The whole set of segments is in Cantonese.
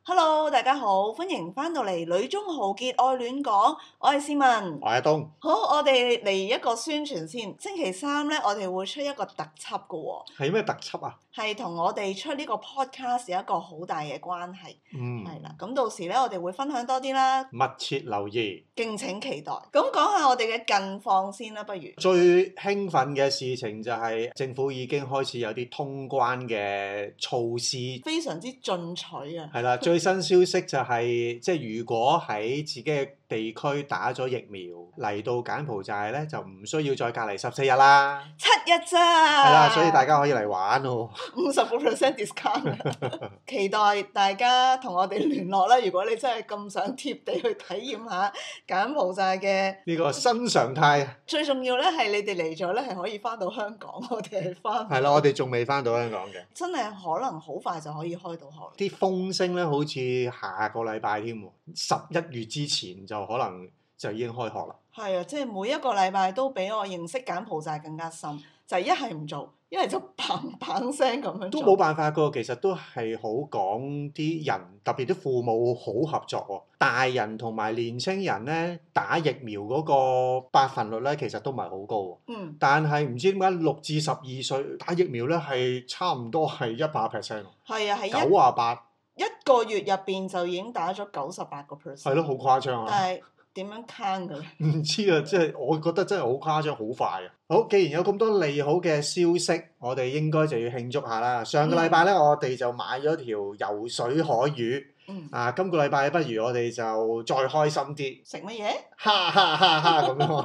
Hello，大家好，歡迎翻到嚟《女中豪傑愛戀講》，我係思文， 我係阿東。 好，我哋嚟一個宣傳先。星期三咧，我哋會出一個特輯嘅喎。 係咩特輯啊？ 係同我哋出呢個 podcast 有一個好大嘅關係。係啦，咁到時咧，我哋會分享多啲啦。 密切留意， 敬請期待。咁講下我哋嘅近況先啦，不如。 最興奮嘅事情就係政府已經開始有啲通關嘅措施， 非常之進取啊！ 係啦，最新消息就係、即係如果喺自己嘅地區打咗疫苗嚟到柬埔寨咧，就唔需要再隔離14日啦。 7日咋？ 係啦，所以大家可以嚟玩喎。 50% discount 期待大家同我哋聯絡啦！如果你真係咁想貼地去體驗下柬埔寨嘅呢個新常態。 最重要咧係你哋嚟咗咧係可以翻到香港，我哋係翻。 係啦，我哋仲未翻到香港嘅。 真係可能好快就可以開到學。 啲風聲咧，好似下個禮拜添喎，11月之前就可能就已經開學啦。 係啊，即係每一個禮拜都比我認識柬埔寨更加深，就係一係唔做，一係就砰砰聲咁樣做。 都冇辦法噶，其實都係好講啲人，特別啲父母好合作喎。大人同埋年青人咧打疫苗嗰個百分率咧，其實都唔係好高喎。但係唔知點解6至12歲打疫苗咧係差唔多係100%。 係啊，係 98。 一個月入邊就已經打咗98%。 係咯，好誇張啊！ 但係點樣 count 嘅咧？ 唔知啊，即係我覺得真係好誇張，好快啊！好，既然有咁多利好嘅消息，我哋應該就要慶祝下啦。上個禮拜咧，我哋就買咗條游水海魚。今個禮拜不如我哋就再開心啲。 食乜嘢？ 哈哈哈哈咁樣。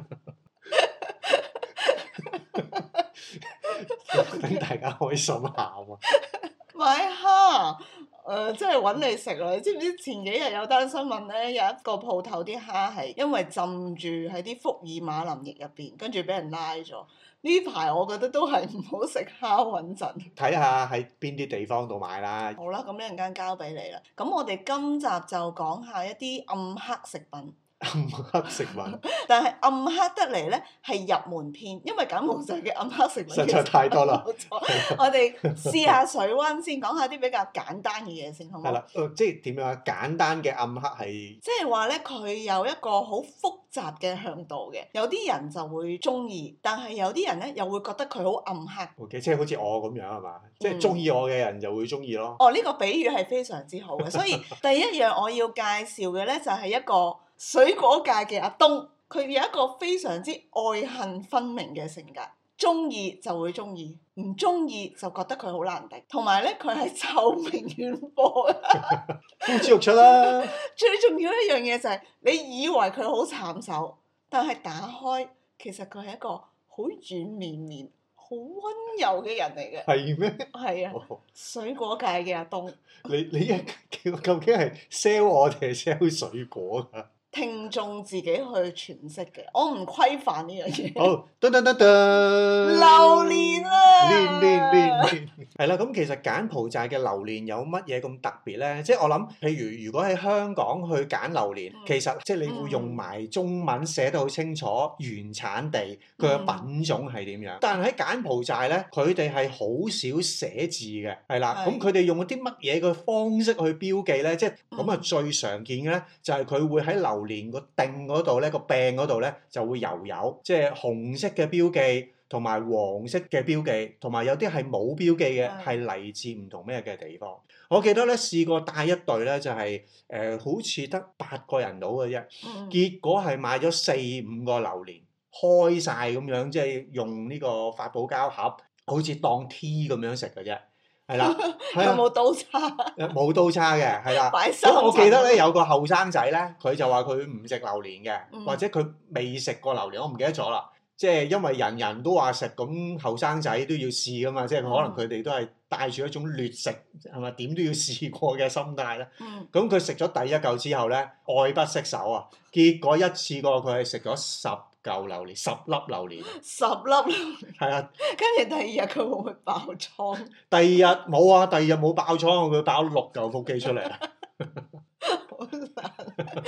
等大家開心下喎。 買蝦，即係揾你食啦！你知唔知前幾日有單新聞咧？有一個鋪頭啲蝦係因為浸住喺啲福爾馬林液入邊，跟住俾人拉咗。呢排我覺得都係唔好食蝦穩陣。 睇下喺邊啲地方度買啦。 好啦，咁一陣間交俾你啦。咁我哋今集就講下一啲暗黑食品。 暗黑食品， 但係暗黑得嚟咧係入門篇，因為柬埔寨嘅暗黑食品實在太多啦。 我哋試下水溫先，講下啲比較簡單嘅嘢先，好唔好？ 係啦，即係點樣啊？簡單嘅暗黑係即係話咧，佢有一個好複雜嘅向度嘅，有啲人就會中意，但係有啲人咧又會覺得佢好暗黑。 OK，即係好似我咁樣係嘛？即係中意我嘅人就會中意咯。 哦，呢個比喻係非常之好嘅，所以第一樣我要介紹嘅咧就係一個水果界嘅阿東，佢有一個非常之愛恨分明嘅性格，中意就會中意，唔中意就覺得佢好難敵，同埋咧佢係臭名遠播， 呼之欲出啦！ 最重要一樣嘢就係、你以為佢好慘手，但係打開其實佢係一個好軟綿綿、好溫柔嘅人嚟嘅。 係咩？ 係啊，水果界嘅阿東。 你究竟係 sell 我定係 sell 水果㗎？ 聽眾自己去詮釋嘅，我唔規範呢樣嘢。 好，噔噔噔噔， 榴蓮啊！ 練，係啦。咁其實柬埔寨嘅榴蓮有乜嘢咁特別咧？即係我諗，譬如如果喺香港去揀榴蓮，其實即係你會用埋中文寫得好清楚原產地佢嘅品種係點樣。但係喺柬埔寨咧，佢哋係好少寫字嘅，係啦。咁佢哋用啲乜嘢嘅方式去標記咧？即係咁啊，最常見嘅咧就係佢會喺榴蓮個頂嗰度咧，個柄嗰度咧就會有即係紅色嘅標記同埋黃色嘅標記，同埋有啲係冇標記嘅，係嚟自唔同咩嘅地方。我記得咧試過帶一隊咧，就係好似得8個人到嘅啫，結果係買咗4-5個榴蓮，開晒咁樣，即係用呢個發泡膠盒，好似當 tea 咁樣食嘅啫。係啦， 有冇刀叉？ 冇刀叉嘅，係啦。 咁我記得咧有個後生仔咧，佢就話佢唔食榴蓮嘅，或者佢未食過榴蓮，我唔記得咗啦。即係因為人人都話食，咁後生仔都要試噶嘛，即係可能佢哋都係帶住一種劣食係咪點都要試過嘅心態咧。咁佢食咗第一嚿之後咧，愛不釋手啊！結果一次過佢係食咗10嚿榴蓮，10粒榴蓮。10 粒榴蓮。 係啊。 跟住第二日佢會唔會爆瘡？ 第二日冇啊，第二日冇爆瘡，佢爆6嚿腹肌出嚟啊！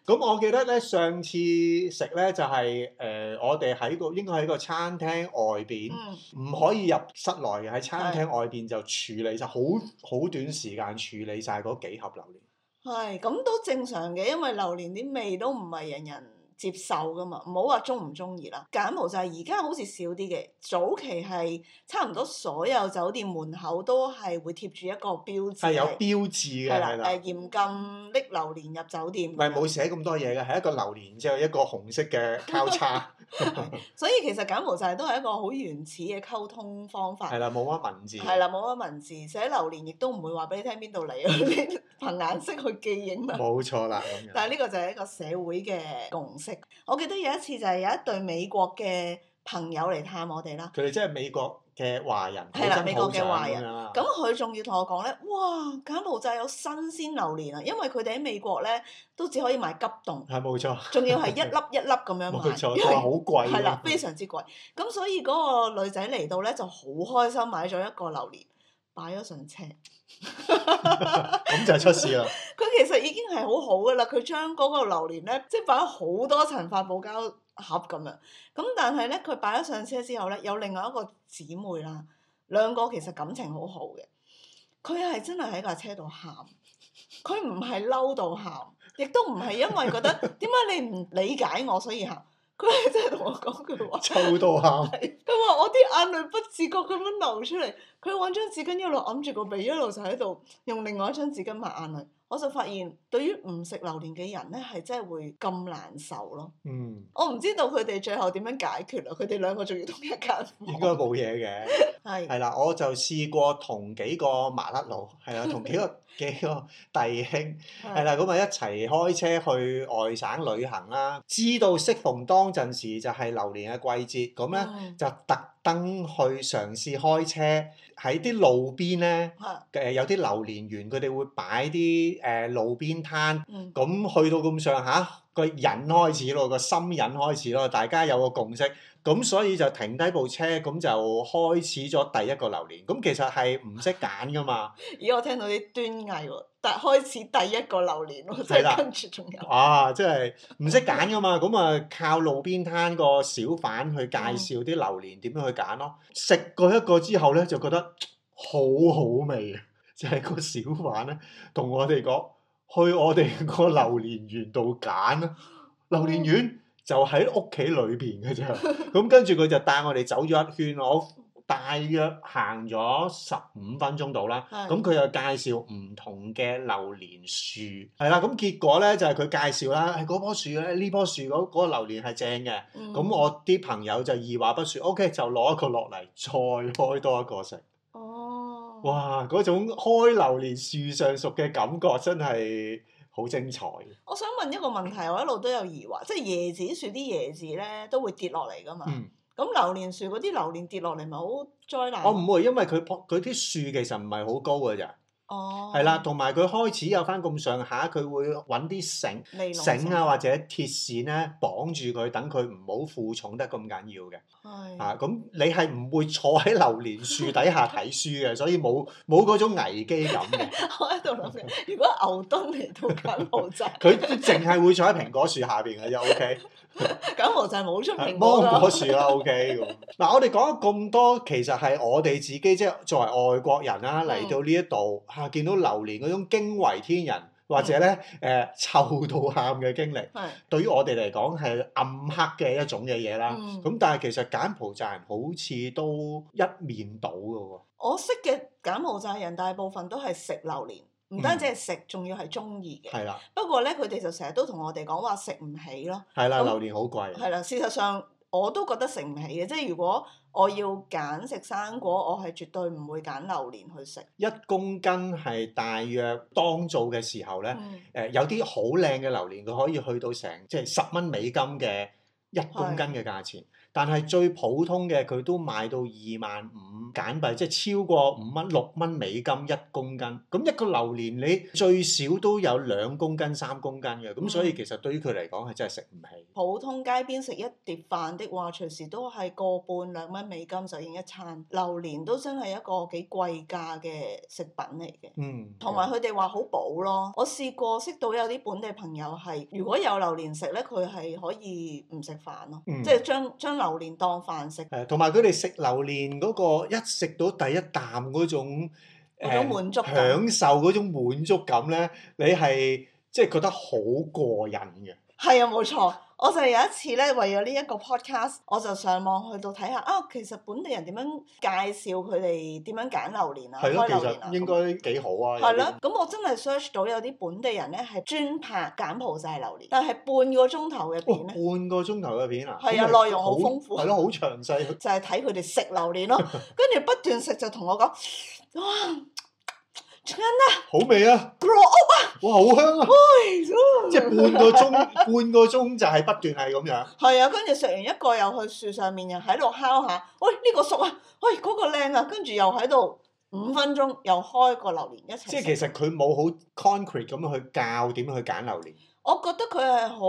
咁我記得咧，上次食咧就係、我哋應該喺個餐廳外邊，唔、可以入室內嘅，喺餐廳外邊就處理晒，好短時間處理晒嗰幾盒榴蓮。 係，咁都正常嘅，因為榴蓮啲味都唔係人人接受噶嘛，唔好話中唔中意啦。柬埔寨而家好似少啲嘅，早期係差唔多所有酒店門口都係會貼住一個標誌， 係有標誌嘅， 係啦， 係啦， 嚴禁拎榴蓮入酒店。 唔係冇寫咁多嘢嘅，係一個榴蓮之後一個紅色嘅交叉。 所以其實柬埔寨都係一個好原始嘅溝通方法。 係啦，冇乜文字。 係啦，冇乜文字，寫榴蓮亦都唔會話俾你聽邊度嚟啊！你憑顏色去記影嘛。 冇錯啦，咁樣。 但係呢個就係一個社會嘅共識。我記得有一次就係有一對美國嘅朋友嚟探我哋啦。 佢哋即係美國嘅華人， 係啦，美國嘅華人。 咁佢仲要同我講咧，哇！柬埔寨有新鮮榴蓮啊，因為佢哋喺美國咧都只可以買急凍。 係冇錯。 仲要係一粒一粒咁樣買。 冇錯，佢話好貴。 係啦，非常之貴。咁所以嗰個女仔嚟到咧就好開心，買咗一個榴蓮，擺咗上車。 咁就出事啦！ 佢其實已經係好好噶啦，佢將嗰個榴蓮咧，即係擺咗好多層發泡膠盒咁樣。咁但係咧，佢擺咗上車之後咧，有另外一個姊妹啦，兩個其實感情好好嘅。佢係真係喺架車度喊，佢唔係嬲到喊，亦都唔係因為覺得點解你唔理解我所以喊。佢係真係同我講句話， 臭到喊。 佢話我啲眼淚不自覺咁樣流出嚟，佢揾張紙巾一路揞住個鼻，一路就喺度用另外一張紙巾抹眼淚。我就發現，對於唔食榴蓮嘅人咧，係真係會咁難受咯。我唔知道佢哋最後點樣解決啦。佢哋兩個仲要同一間房。 應該冇嘢嘅。係啦，我就試過同幾個麻甩佬，係啦，同幾個弟兄，係啦，咁啊一齊開車去外省旅行啦。知道適逢當陣時就係榴蓮嘅季節，咁咧就特登去嘗試開車喺啲路邊咧，有啲榴蓮園，佢哋會擺啲路邊攤，咁去到咁上下，個癮開始咯，個心癮開始咯，大家有個共識，咁所以就停低部車，咁就開始咗第一個榴蓮。咁其實係唔識揀噶嘛。 咦！我聽到啲端倪喎，但開始第一個榴蓮喎，即係跟住仲有。 啊！即係唔識揀噶嘛，咁啊靠路邊攤個小販去介紹啲榴蓮點樣去揀咯。食過一個之後咧，就覺得好好味啊！就係個小販咧同我哋講，去我哋個榴蓮園度揀啦。榴蓮園就喺屋企裏邊嘅啫。咁跟住佢就帶我哋走咗一圈，我大約行咗15分鐘到啦。咁佢又介紹唔同嘅榴蓮樹，係啦。咁結果咧就係佢介紹啦，嗰棵樹咧，呢棵樹嗰個榴蓮係正嘅。咁我啲朋友就二話不說，OK 就攞一個落嚟，再開多一個食。哇！嗰種開榴蓮樹上熟嘅感覺真係好精彩。 我想問一個問題，我一路都有疑惑，即係椰子樹啲椰子咧都會跌落嚟噶嘛？咁榴蓮樹嗰啲榴蓮跌落嚟咪好災難？ 我唔會，因為佢啲樹其實唔係好高嘅咋。係啦，同埋佢開始有翻咁上下，佢會揾啲繩啊或者鐵線咧綁住佢，等佢唔好負重得咁緊要嘅。咁你係唔會坐喺榴蓮樹底下睇書嘅，所以冇嗰種危機感嘅。 我喺度諗緊，如果牛頓嚟到柬埔寨， 佢都淨係會坐喺蘋果樹下邊嘅啫。OK。 柬埔寨冇出蘋果啦。 芒果樹啦，OK 咁。嗱，我哋講咗咁多，其實係我哋自己即係作為外國人啦，嚟到呢一度見到榴蓮嗰種驚為天人，或者咧臭到喊嘅經歷，對於我哋嚟講係暗黑嘅一種嘅嘢啦。咁但係其實柬埔寨人好似都一面倒嘅喎。我識嘅柬埔寨人大部分都係食榴蓮。唔單止係食，仲要係中意嘅。 係啦。 不過咧，佢哋就成日都同我哋講話食唔起咯。 係啦，榴蓮好貴。 係啦，事實上我都覺得食唔起嘅，即係如果我要揀食生果，我係絕對唔會揀榴蓮去食。 1公斤係大約當造嘅時候咧，有啲好靚嘅榴蓮，佢可以去到成即係10蚊美金嘅1公斤嘅價錢。 但係最普通嘅佢都賣到25,000柬幣，即係超過5蚊6蚊美金1公斤。咁一個榴蓮你最少都有2公斤3公斤嘅，咁所以其實對於佢嚟講係真係食唔起。 普通街邊食一碟飯的話，隨時都係個半2蚊美金就已經一餐。榴蓮都真係一個幾貴價嘅食品嚟嘅。同埋佢哋話好補咯。我試過識到有啲本地朋友係，如果有榴蓮食咧，佢係可以唔食飯咯，即係將榴蓮當飯食。 同埋佢哋食榴蓮嗰個一食到第一啖嗰種滿足感， 享受嗰種滿足感咧，你係即係覺得好過癮嘅。 係啊，冇錯。我就有一次咧，為咗呢一個 podcast，我就上網去到睇下其實本地人點樣介紹佢哋點樣揀榴蓮啊，開榴蓮啊。 其實應該幾好啊。 係咯，咁我真係 search 到有啲本地人咧係專拍柬埔寨榴蓮，但係半個鐘頭嘅片咧。 半個鐘頭嘅片啊？ 係啊，內容好豐富。 係咯，好詳細。 就係睇佢哋食榴蓮咯，跟住不斷食就同我講，哇！真啊！ 好味啊 ！grow up 啊！ 哇，好香啊！即係半個鐘就係不斷係咁樣。 係啊，跟住食完一個又去樹上面又喺度敲下，喂呢個熟啊，喂嗰個靚啊，跟住又喺度5分鐘又開個榴蓮一齊食。 即係其實佢冇好 concrete 咁去教點樣去揀榴蓮。我覺得佢係好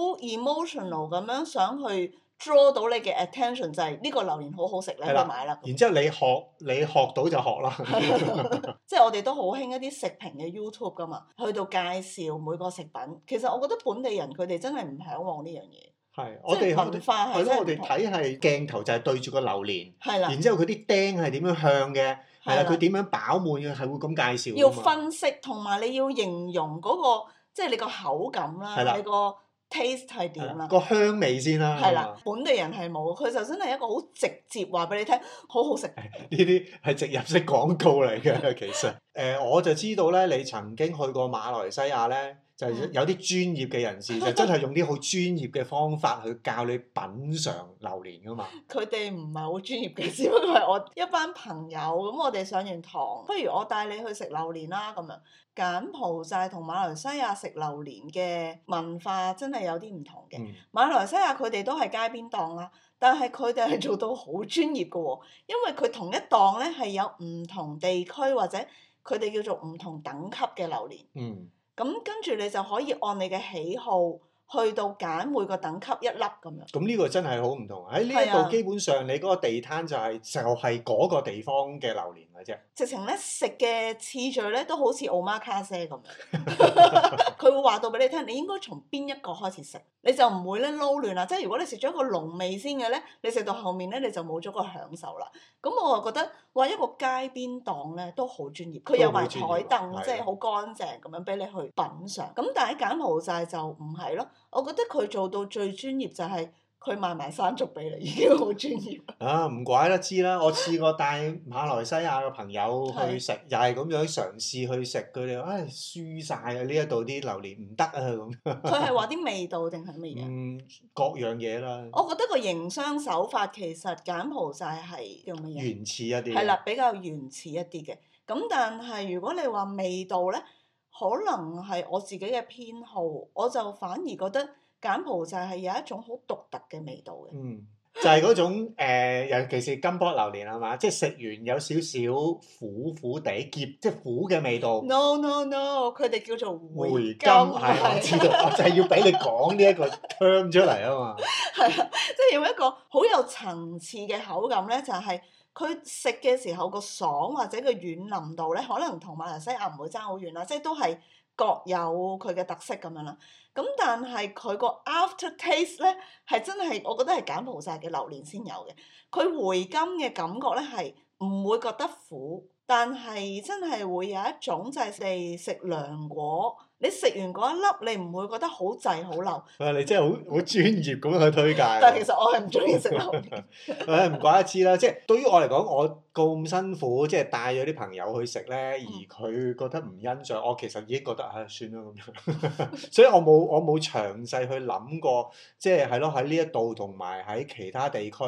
emotional 咁樣想去draw 到你嘅 attention， 就係呢個榴蓮好好食，你去買啦。 然之後你學到就學啦。 即係我哋都好興一啲食評嘅 YouTube 噶嘛，去到介紹每個食品。其實我覺得本地人佢哋真係唔嚮往呢樣嘢。 係，我哋文化係真係唔同。 我哋睇係鏡頭就係對住個榴蓮， 係啦。 然之後佢啲釘係點樣向嘅，係啦，佢點樣飽滿嘅，係會咁介紹。 要分析同埋你要形容嗰個，即係你個口感啦，你個 taste 係點啦？ 個香味先啦。 係啦，本地人係冇，佢就真係一個好直接話俾你聽，好好食。 呢啲係植入式廣告嚟嘅，其實。我就知道咧，你曾經去過馬來西亞咧，就有啲專業嘅人士就真係用啲好專業嘅方法去教你品嚐榴蓮噶嘛。 佢哋唔係好專業嘅，只不過係我一班朋友咁，我哋上完堂，不如我帶你去食榴蓮啦咁樣。柬埔寨同馬來西亞食榴蓮嘅文化真係有啲唔同嘅。馬來西亞佢哋都係街邊檔啦，但係佢哋係做到好專業嘅喎，因為佢同一檔咧係有唔同地區或者佢哋叫做唔同等級嘅榴蓮。咁跟住你就可以按你嘅喜好去到揀每個等級一粒咁樣。咁呢個真係好唔同。喺呢一度基本上你嗰個地攤就係嗰個地方嘅榴蓮嘅啫。 直情咧食嘅次序咧都好似 omakase 咁樣，佢會話到俾你聽，你應該從邊一個開始食，你就唔會咧撈亂啦。即係如果你食咗一個濃味先嘅咧，你食到後面咧你就冇咗個享受啦。咁我就覺得話一個街邊檔咧都好專業，佢有埋台凳，即係好乾淨咁樣俾你去品嚐。咁但係柬埔寨就唔係咯。我覺得佢做到最專業就係佢賣埋山竹俾你，已經好專業。 唔怪得知啦！我試過帶馬來西亞嘅朋友去食，又係咁樣嘗試去食，佢哋話輸晒啊！呢一度啲榴蓮唔得啊咁。 佢係話啲味道定係乜嘢？ 各樣嘢啦。 我覺得個營商手法其實柬埔寨係叫乜嘢？ 原始一啲。 係啦，比較原始一啲嘅。咁但係如果你話味道咧，可能係我自己嘅偏好，我就反而覺得柬埔寨係有一種好獨特嘅味道嘅。 就係嗰種尤其是金箔榴蓮係嘛，即係食完有少少苦苦地澀，即係苦嘅味道。 No，佢哋叫做回甘。 係我知道，我就係要俾你講呢一個 term 出嚟啊嘛。 係啊，即係用一個好有層次嘅口感咧，就係佢食嘅時候個爽或者個軟腍度咧，可能同馬來西亞唔會爭好遠啦，即係都係各有佢嘅特色咁樣啦。咁但係佢個 after taste 咧係真係，我覺得係柬埔寨嘅榴蓮先有嘅。佢回甘嘅感覺咧係唔會覺得苦，但係真係會有一種就係你食涼果，你食完嗰一粒你唔會覺得好滯好流。 你真係好專業咁樣去推介。 但係其實我係唔中意食榴蓮。 唔怪得知啦，即係對於我嚟講，我咁辛苦即係帶咗啲朋友去食咧，而佢覺得唔欣賞，我其實已經覺得算啦咁樣。所以我冇詳細去諗過，即係咯喺呢一度同埋喺其他地區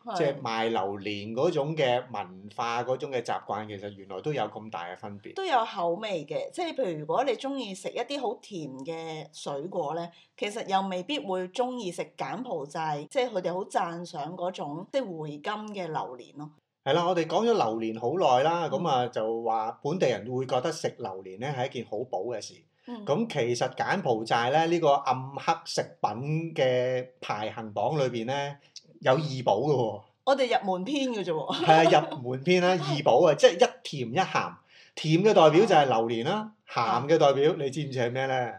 即係賣榴蓮嗰種嘅文化嗰種嘅習慣，其實原來都有咁大嘅分別。 都有口味嘅，即係譬如如果你中意食一啲好甜嘅水果咧，其實又未必會中意食柬埔寨，即係佢哋好讚賞嗰種即係回甘嘅榴蓮咯。 係啦，我哋講咗榴蓮好耐啦，咁啊、 嗯、 就話本地人會覺得食榴蓮咧係一件好補嘅事。咁、其實柬埔寨咧呢個暗黑食品嘅排行榜裏邊咧有二寶嘅喎。 我哋入門篇嘅啫喎。 係啊，入門篇啦，二寶啊，即係一甜一鹹。甜嘅代表就係榴蓮啦，鹹嘅代表你知唔知係咩咧？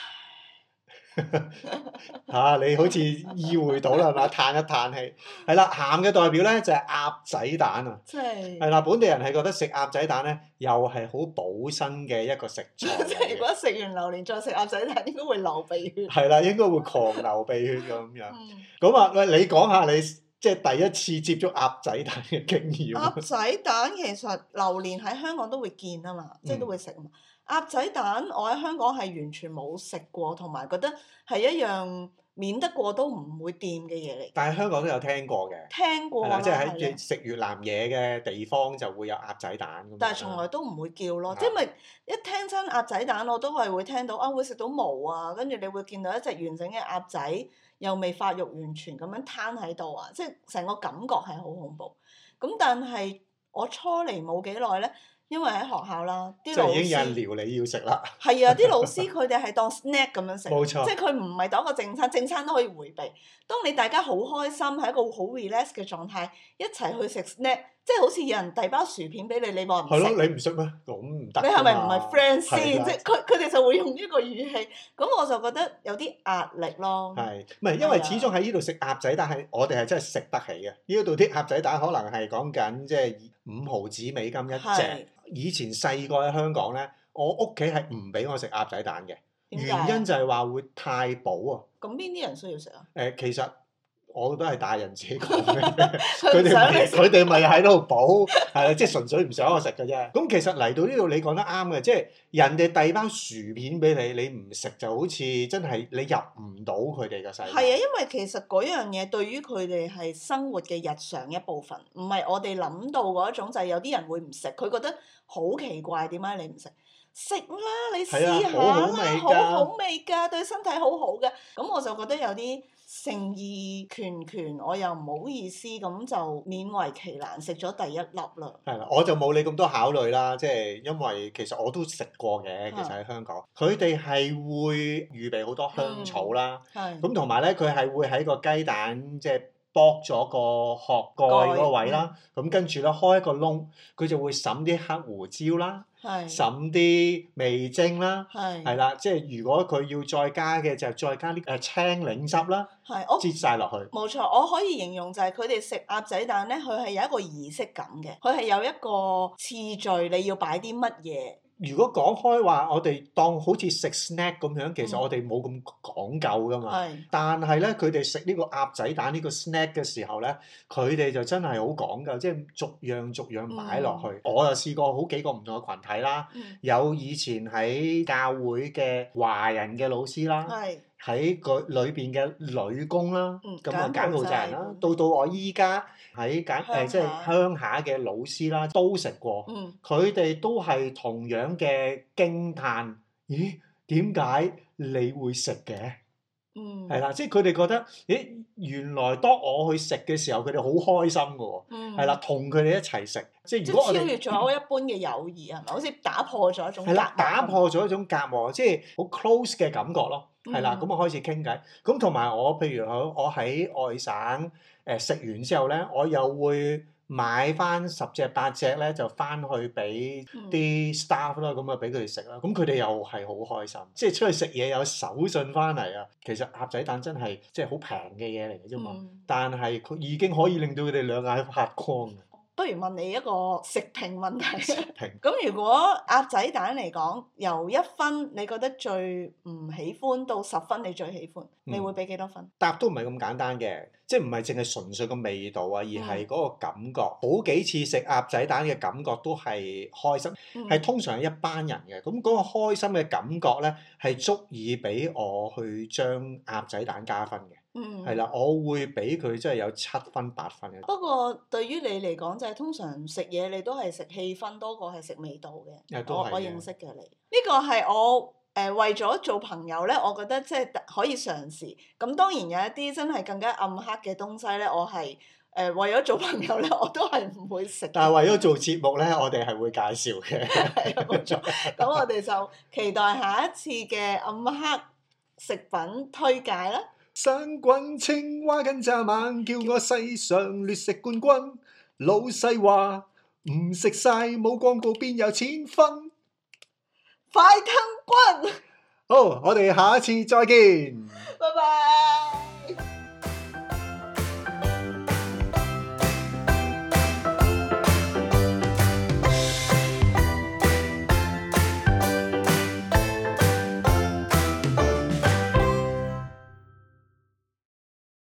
嚇、你好似意會到啦，係嘛？嘆一嘆氣。係啦，鹹嘅代表咧就係鴨仔蛋啊。 即係。 係啦，本地人係覺得食鴨仔蛋咧，又係好補身嘅一個食材嚟嘅。 即係如果食完榴蓮再食鴨仔蛋，應該會流鼻血。 係啦，應該會狂流鼻血咁樣。 嗯。 咁啊，喂，你講下你即係第一次接觸鴨仔蛋嘅經驗。 鴨仔蛋其實榴蓮喺香港都會見啊嘛，即係都會食嘛。鴨仔蛋我喺香港係完全冇食過，同埋覺得係一樣免得過都唔會掂嘅嘢嚟。 但係香港都有聽過嘅。 聽過啦， 係啦，即係係喺食越南嘢嘅地方就會有鴨仔蛋咁樣。 但係從來都唔會叫咯， 啊即係咪一聽親鴨仔蛋，我都係會聽到啊，會食到毛啊，跟住你會見到一隻完整嘅鴨仔，又未發育完全咁樣攤喺度啊，即係成個感覺係好恐怖。咁但係我初嚟冇幾耐咧。因為喺學校啦，啲老師即係已經有人撩你要食啦。 係啊，啲老師佢哋係當 snack 咁樣食， 冇錯， 即係佢唔係當一個正餐，正餐都可以迴避。當你大家好開心，係一個好 relax 嘅狀態，一齊去食 snack，即係好似有人遞包薯片俾你，你話唔食？ 係咯，你唔食咩？咁唔得。 你係咪唔係 friend 先？ 係即係佢哋就會用呢個語氣，咁我就覺得有啲壓力咯。 係，唔係因為始終喺呢度食鴨仔蛋係我哋係真係食得起嘅。呢度啲鴨仔蛋可能係講緊即係5毫子美金一隻。以前細個喺香港咧，我屋企係唔俾我食鴨仔蛋嘅，原因就係話會太補啊。 咁邊啲人需要食啊？ 其實我都係大人自己講嘅， 佢佢哋咪喺度補，係啦，即係純粹唔想我食嘅啫。咁其實嚟到呢度你講得啱嘅，即係人哋遞包薯片俾你，你唔食就好似真係你入唔到佢哋嘅世界。 係啊，因為其實嗰樣嘢對於佢哋係生活嘅日常一部分，唔係我哋諗到嗰一種，就係有啲人會唔食，佢覺得好奇怪，點解你唔食？食啦，你試下啦，好好味㗎，對身體好好嘅。咁我就覺得有啲誠意拳，我又唔好意思，咁就勉為其難食咗第一粒啦。 係啦，我就冇你咁多考慮啦，即係因為其實我都食過嘅，其實喺香港，佢哋係會預備好多香草啦，咁同埋咧佢係會喺個雞蛋即係剝咗個殼蓋嗰個位啦，咁跟住咧開一個窿，佢就會揼啲黑胡椒啦，揼啲味精啦，係啦，即係如果佢要再加嘅就再加啲青檸汁啦，擠晒落去。冇錯，我可以形容就係佢哋食鴨仔蛋咧，佢係有一個儀式感嘅，佢係有一個次序，你要擺啲乜嘢。 如果講開話，我哋當好似食 snack 咁樣，其實我哋冇咁講究噶嘛。但係咧，佢哋食呢個鴨仔蛋呢個 snack 嘅時候咧，佢哋就真係好講究，即係逐樣擺落去。我就試過好幾個唔同嘅群體啦，有以前喺教會嘅華人嘅老師啦。喺個裏邊嘅女工啦，咁啊柬埔寨人啦，到我依家喺即係鄉下嘅老師啦，都食過，佢哋都係同樣嘅驚歎，咦？點解你會食嘅？係啦，即係佢哋覺得，咦？原來當我去食嘅時候，佢哋好開心㗎喎，係啦，同佢哋一齊食，即係如果我哋超越咗一般嘅友誼係咪？好似打破咗一種係啦，打破咗一種隔膜，即係好 close 嘅感覺咯。係啦，咁我開始傾偈，咁同埋我譬如我喺外省食完之後咧，我又會買翻10隻8隻咧，就翻去俾啲 staff 啦，咁啊俾佢哋食啦，咁佢哋又係好開心，即係出去食嘢有手信翻嚟啊！其實鴨仔蛋真係即係好平嘅嘢嚟嘅啫嘛，但係佢已經可以令到佢哋兩眼發光。 不如問你一個食評問題。咁如果鴨仔蛋嚟講，由1分你覺得最唔喜歡到10分你最喜歡，你會俾幾多分？ 答都唔係咁簡單嘅，即係唔係淨係純粹個味道啊，而係嗰個感覺。好幾次食鴨仔蛋嘅感覺都係開心，係通常係一班人嘅，咁嗰個開心嘅感覺咧係足以俾我去將鴨仔蛋加分嘅。 係啦，我會俾佢真係有7分8分嘅。 不過對於你嚟講，就係通常食嘢你都係食氣氛多過係食味道嘅。我認識嘅你，呢個係我為咗做朋友咧，我覺得即係可以嘗試。咁當然有一啲真係更加暗黑嘅東西咧，我係為咗做朋友咧，我都係唔會食。 但係為咗做節目咧，我哋係會介紹嘅。 係啊，冇錯。咁我哋就期待下一次嘅暗黑食品推介啦。 生滾青蛙跟蚱蜢，叫我世上劣食冠軍。老細話唔食晒冇廣告邊有錢分。 快吞棍！ 好，我哋下一次再見。